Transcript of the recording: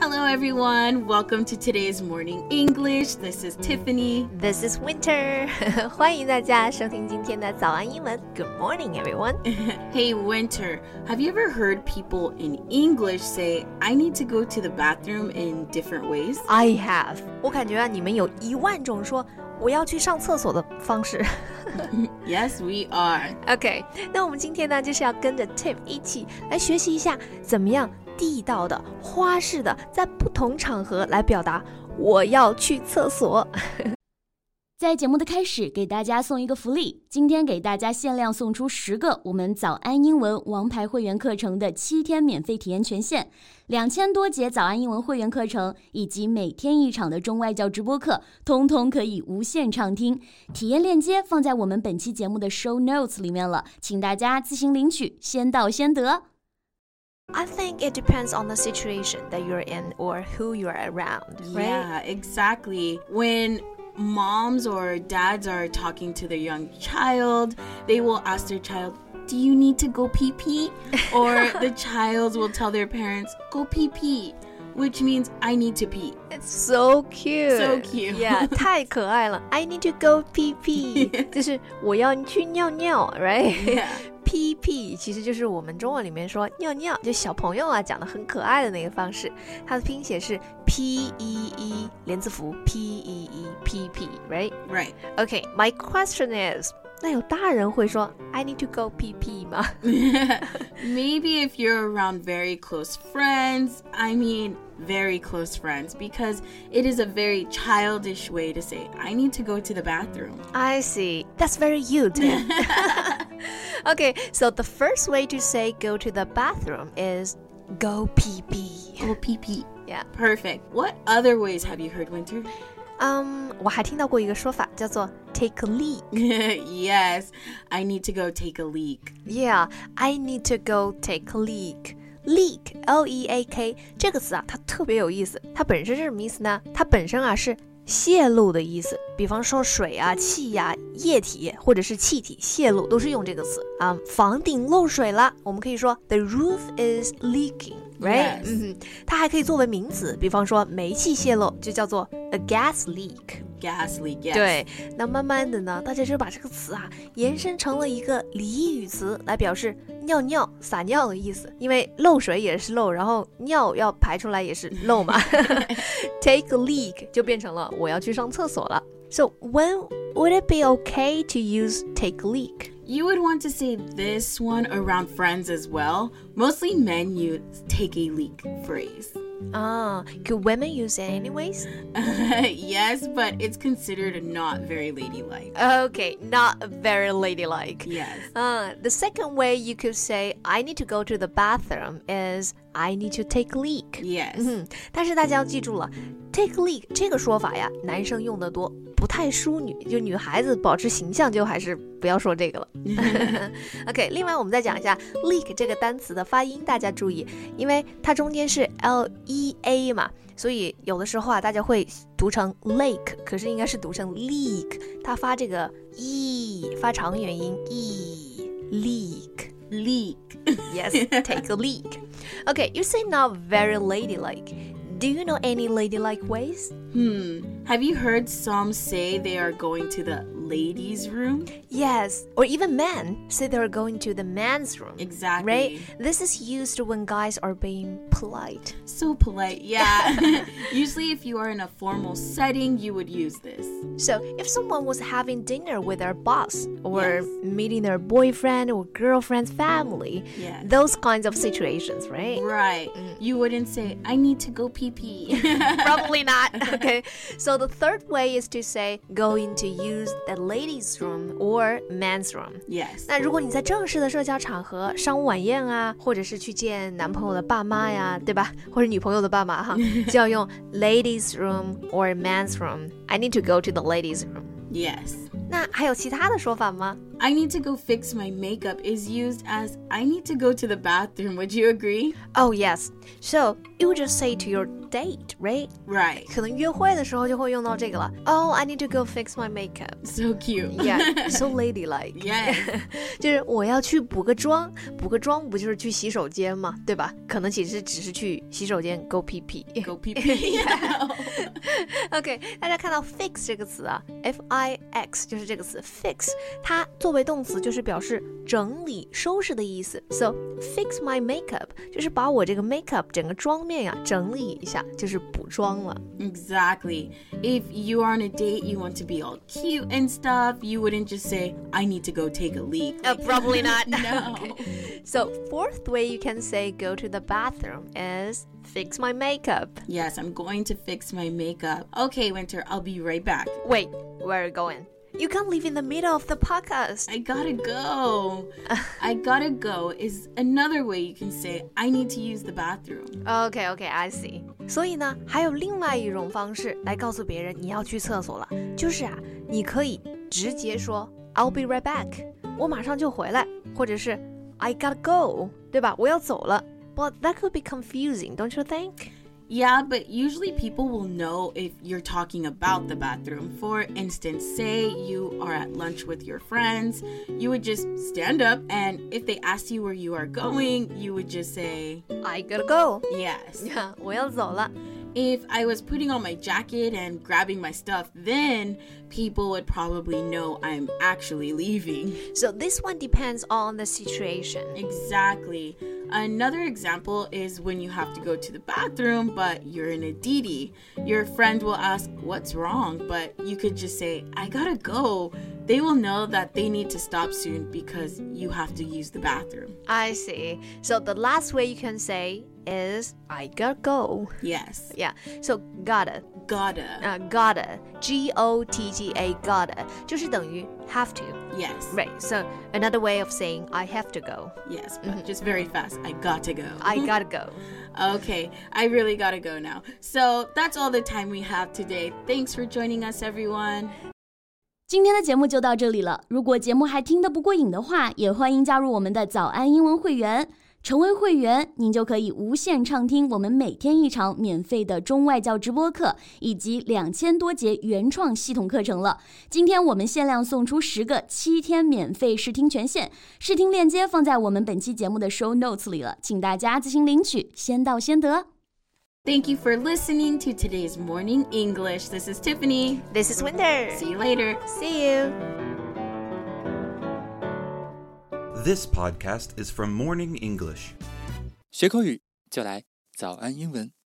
Hello everyone, welcome to today's morning English. This is Tiffany. This is Winter. 欢迎大家收听今天的早安英文。Good morning, everyone. Hey Winter, have you ever heard people in English say, I need to go to the bathroom in different ways? I have. 我感觉你们有10000种说我要去上厕所的方式。 Yes, we are. OK, 那我们今天呢，就是要跟着 Tiff 一起来学习一下，怎么样地道的、花式的，在不同场合来表达我要去厕所。 在节目的开始，给大家送一个福利，今天给大家限量送出10个我们早安英文王牌会员课程的7天免费体验权限，2000多节早安英文会员课程以及每天1场的中外教直播课，通通可以无限畅听。体验链接放在我们本期节目的 show notes 里面了，请大家自行领取，先到先得。 I think it depends on the situation that you're in or who you're around, right? Yeah, exactly. When moms or dads are talking to their young child, they will ask their child, do you need to go pee-pee? Or the child will tell their parents, go pee-pee, which means I need to pee. It's so cute. So cute. Yeah, 太可爱了。I need to go pee-pee. 就是我要去尿尿 right? Pee-pee 其实就是我们中文里面说尿尿，就小朋友啊讲的很可爱的那个方式。它的拼写是 P-E-E 连字符 P-E-E P-P right? Right. Okay, my question is, 那有大人会说 I need to go pee-pee 吗？ Maybe if you're around very close friends, I mean very close friends, because it is a very childish way to say I need to go to the bathroom. I see. That's very you, Tim. Okay, so the first way to say go to the bathroom is go pee-pee. Go pee-pee. Yeah. Perfect. What other ways have you heard, Winter? 我还听到过一个说法叫做 take a leak. Yes, I need to go take a leak. Yeah, I need to go take a leak. Leak, L-E-A-K 这个词啊，它特别有意思。它本身是什么意思呢？它本身啊是泄露的意思，比方说水啊、气呀、液体或者是气体泄露，都是用这个词啊。房顶漏水了，我们可以说 The roof is leaking, right? Yes. 它还可以作为名词，比方说煤气泄漏就叫做 a gas leak. Gas leak, yes. 对，那慢慢的呢，大家就把这个词啊延伸成了一个俚语词，来表示尿尿、撒尿的意思。因为漏水也是漏，然后尿要排出来也是漏嘛。Take a leak 就变成了我要去上厕所了。So when would it be okay to use take a leak? You would want to say this one around friends as well. Mostly men use take a leak phrase. Could women use it anyways? Yes, but it's considered not very ladylike. Okay, not very ladylike. Yes. The second way you could say I need to go to the bathroom is I need to take a leak. Yes. 但是大家要记住了 take a leak 这个说法呀，男生用得多，不太淑女，就女孩子保持形象就还是不要说这个了。OK， 另外我们再讲一下 leak 这个单词的发音，大家注意，因为它中间是 L-E-A 嘛，所以有的时候啊，大家会读成 lake， 可是应该是读成 leak， 它发这个 e 发长元音 e leak。 Leak. Yes, take a leak. Okay, you say not very ladylike. Do you know any ladylike ways? Have you heard some say they are going to the ladies' room? Yes, or even men say they're going to the man's room. Exactly. Right? This is used when guys are being polite. So polite, yeah. Usually if you are in a formal setting, you would use this. So if someone was having dinner with their boss or Yes. meeting their boyfriend or girlfriend's family, Yes. those kinds of situations, right? Right. You wouldn't say, I need to go pee-pee. Probably not. Okay. So the third way is to say going to use the ladies' room or man's room. Yes. 那如果你在正式的社交场合，商务晚宴啊，或者是去见男朋友的爸妈呀，对吧？或者女朋友的爸妈哈，就要用 ladies' room or man's room. I need to go to the ladies' room. Yes. 那还有其他的说法吗 I need to go fix my makeup is used as I need to go to the bathroom. Would you agree? Oh, yes. So, you would just say to your date, right? Right. 可能约会的时候就会用到这个了。Oh, I need to go fix my makeup. So cute. Yeah, so ladylike. Yes. 就是我要去补个妆，补个妆不就是去洗手间吗？对吧？可能其实只是去洗手间 go 屁屁。 Go pee pee. OK， 大家看到 fix 这个词啊 ，F-I-X 就是这个词 fix， 它作为动词就是表示整理、收拾的意思。So fix my makeup 就是把我这个 makeup 整个妆面呀整理一下，就是补妆了。 Exactly. If you are on a date, you want to be all cute and stuff, you wouldn't just say, I need to go take a leak. Probably not. No. Okay. So fourth way you can say go to the bathroom is fix my makeup. Yes, I'm going to fix my makeup. Okay, Winter, I'll be right back. Wait, where are you going? You can't leave in the middle of the podcast. I gotta go. I gotta go is another way you can say, I need to use the bathroom. Okay, I see. 所以呢，还有另外一种方式来告诉别人你要去厕所了，就是啊，你可以直接说 I'll be right back， 我马上就回来，或者是 I gotta go， 对吧？我要走了。But that could be confusing, don't you think? Yeah, but usually people will know if you're talking about the bathroom. For instance, say you are at lunch with your friends, you would just stand up, and if they ask you where you are going, you would just say, I gotta go. yes. 我要走了。 If I was putting on my jacket and grabbing my stuff, then people would probably know I'm actually leaving. So this one depends on the situation. Exactly. Another example is when you have to go to the bathroom, but you're in a DD. Your friend will ask, what's wrong? But you could just say, I gotta go. They will know that they need to stop soon because you have to use the bathroom. I see. So the last way you can say is I gotta go. Yes. Yeah. So gotta. Gotta. Gotta. G-O-T-T-A. Gotta. 就是等于 have to. Yes. Right. So another way of saying I have to go. Yes, but just very fast. I gotta go. I gotta go. Okay, I really gotta go now. So that's all the time we have today. Thanks for joining us, everyone. 今天的节目就到这里了。如果节目还听得不过瘾的话，也欢迎加入我们的早安英文会员。成为会员，您就可以无限畅听我们每天一场免费的中外教直播课，以及2000多节原创系统课程了。今天我们限量送出10个7天免费试听权限，试听链接放在我们本期节目的 show notes 里了，请大家自行领取，先到先得。 Thank you for listening to today's Morning English. This is Tiffany. This is Winter. See you later. See you. This podcast is from Morning English. 学口语就来早安英文。